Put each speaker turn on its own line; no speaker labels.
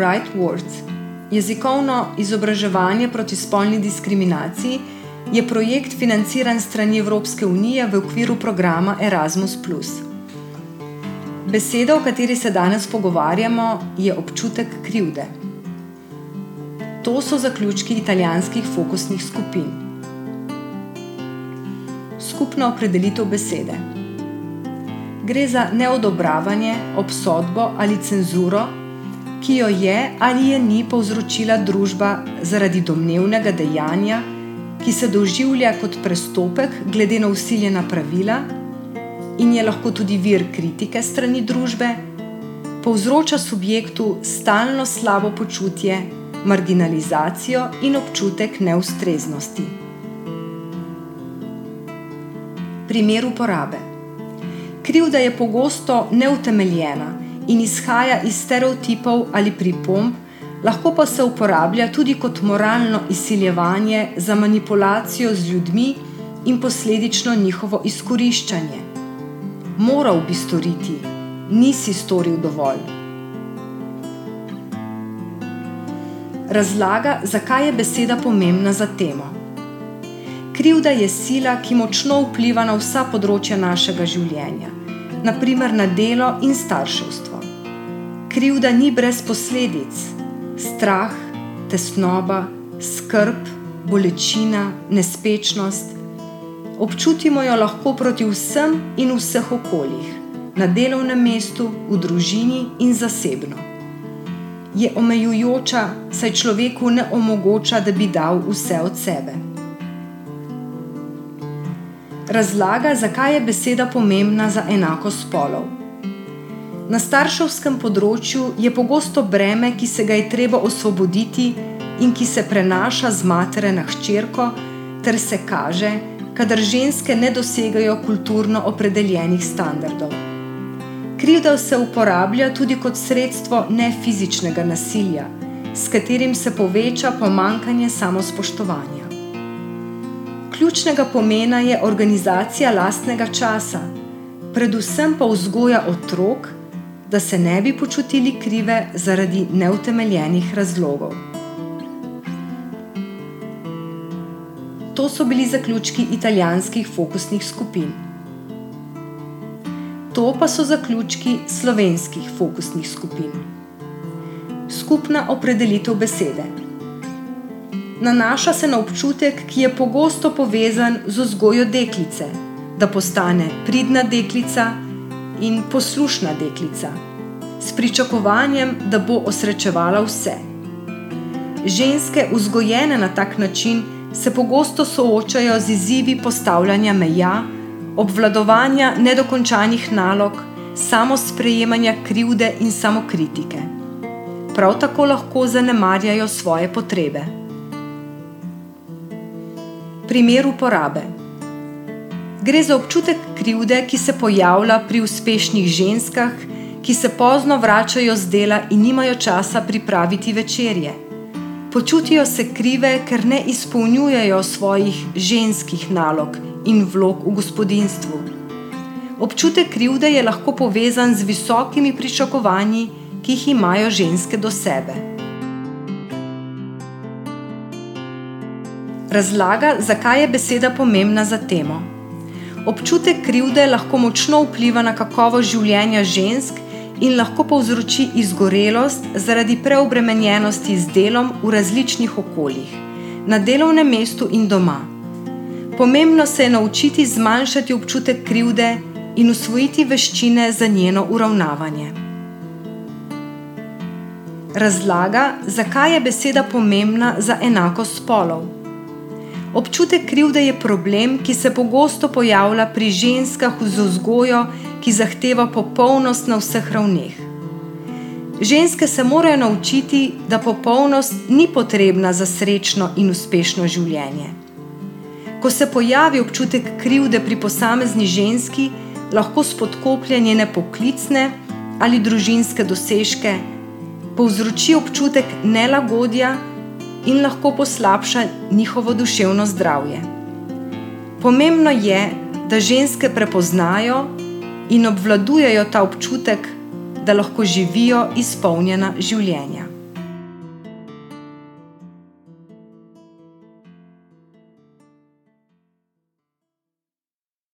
Right Words, jezikovno izobraževanje proti spolni diskriminaciji, je projekt financiran strani Evropske unije v okviru programa Erasmus+. Beseda, o kateri se danes pogovarjamo, je občutek krivde. To so zaključki italijanskih fokusnih skupin. Skupna opredelitev besede. Gre za neodobravanje, obsodbo ali cenzuro, ki jo je ali je ni povzročila družba zaradi domnevnega dejanja, ki se doživlja kot prestopek glede na vsiljena pravila in je lahko tudi vir kritike strani družbe, povzroča subjektu stalno slabo počutje, marginalizacijo in občutek neustreznosti. Primer uporabe. Krivda je pogosto neutemeljena in izhaja iz stereotipov ali pripomb, lahko pa se uporablja tudi kot moralno izsiljevanje za manipulacijo z ljudmi in posledično njihovo izkoriščanje. Moral bi storiti, nisi storil dovolj. Razlaga, zakaj je beseda pomembna za temo. Krivda je sila, ki močno vpliva na vsa področja našega življenja, na primer na delo in starševstvo. Krivda ni brez posledic. Strah, tesnoba, skrb, bolečina, nespečnost. Občutimo jo lahko proti vsem in vseh okoljih, na delovnem mestu, v družini in zasebno. Je omejujoča, saj človeku ne omogoča, da bi dal vse od sebe. Razlaga, zakaj je beseda pomembna za enakost spolov. Na starševskem področju je pogosto breme, ki se ga je treba osvoboditi in ki se prenaša z matere na hčerko, ter se kaže, kadar ženske ne dosegajo kulturno opredeljenih standardov. Krivda se uporablja tudi kot sredstvo nefizičnega nasilja, s katerim se poveča pomanjkanje samospoštovanja. Ključnega pomena je organizacija lastnega časa, predvsem pa vzgoja otrok, da se ne bi počutili krive zaradi neutemeljenih razlogov. To so bili zaključki italijanskih fokusnih skupin. To pa so zaključki slovenskih fokusnih skupin. Skupna opredelitev besede. Nanaša se na občutek, ki je pogosto povezan z vzgojo deklice, da postane pridna deklica in poslušna deklica, s pričakovanjem, da bo osrečevala vse. Ženske, vzgojene na tak način, se pogosto soočajo z izzivi postavljanja meja, obvladovanja nedokončanih nalog, samosprejemanja krivde in samokritike. Prav tako lahko zanemarjajo svoje potrebe. Primer uporabe. Gre za občutek krivde, ki se pojavlja pri uspešnih ženskah, ki se pozno vračajo z dela in nimajo časa pripraviti večerje. Počutijo se krive, ker ne izpolnjujejo svojih ženskih nalog in vlog v gospodinjstvu. Občutek krivde je lahko povezan z visokimi pričakovanji, ki jih imajo ženske do sebe. Razlaga, zakaj je beseda pomembna za temo. Občutek krivde lahko močno vpliva na kakovost življenja žensk in lahko povzroči izgorelost zaradi preobremenjenosti z delom v različnih okoljih, na delovnem mestu in doma. Pomembno se je naučiti zmanjšati občutek krivde in usvojiti veščine za njeno uravnavanje. Razlaga, zakaj je beseda pomembna za enakost spolov. Občutek krivde je problem, ki se pogosto pojavlja pri ženskah z vzgojo, ki zahteva popolnost na vseh ravneh. Ženske se morajo naučiti, da popolnost ni potrebna za srečno in uspešno življenje. Ko se pojavi občutek krivde pri posamezni ženski, lahko spodkoplje njene poklicne ali družinske dosežke, povzroči občutek nelagodja in lahko poslabša njihovo duševno zdravje. Pomembno je, da ženske prepoznajo in obvladujejo ta občutek, da lahko živijo izpolnjena življenja.